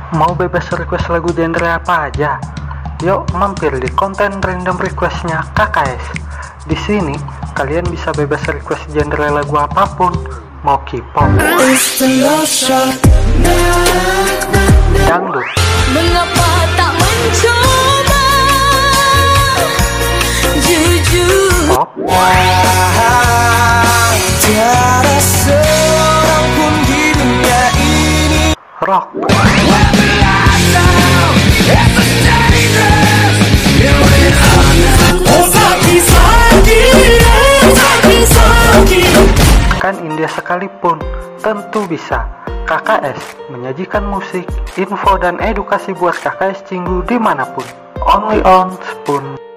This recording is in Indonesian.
Mau bebas request lagu genre apa aja? Yuk mampir di konten random requestnya KKS. Di sini kalian bisa bebas request genre lagu apapun, mau K-pop, dangdut, mengapa tak mencoba jujur pop, Tiada seorang pun di dunia ini rock, kan India sekalipun tentu bisa. KKS menyajikan musik, info dan edukasi buat KKS Cinggu dimanapun. Only on Spoon.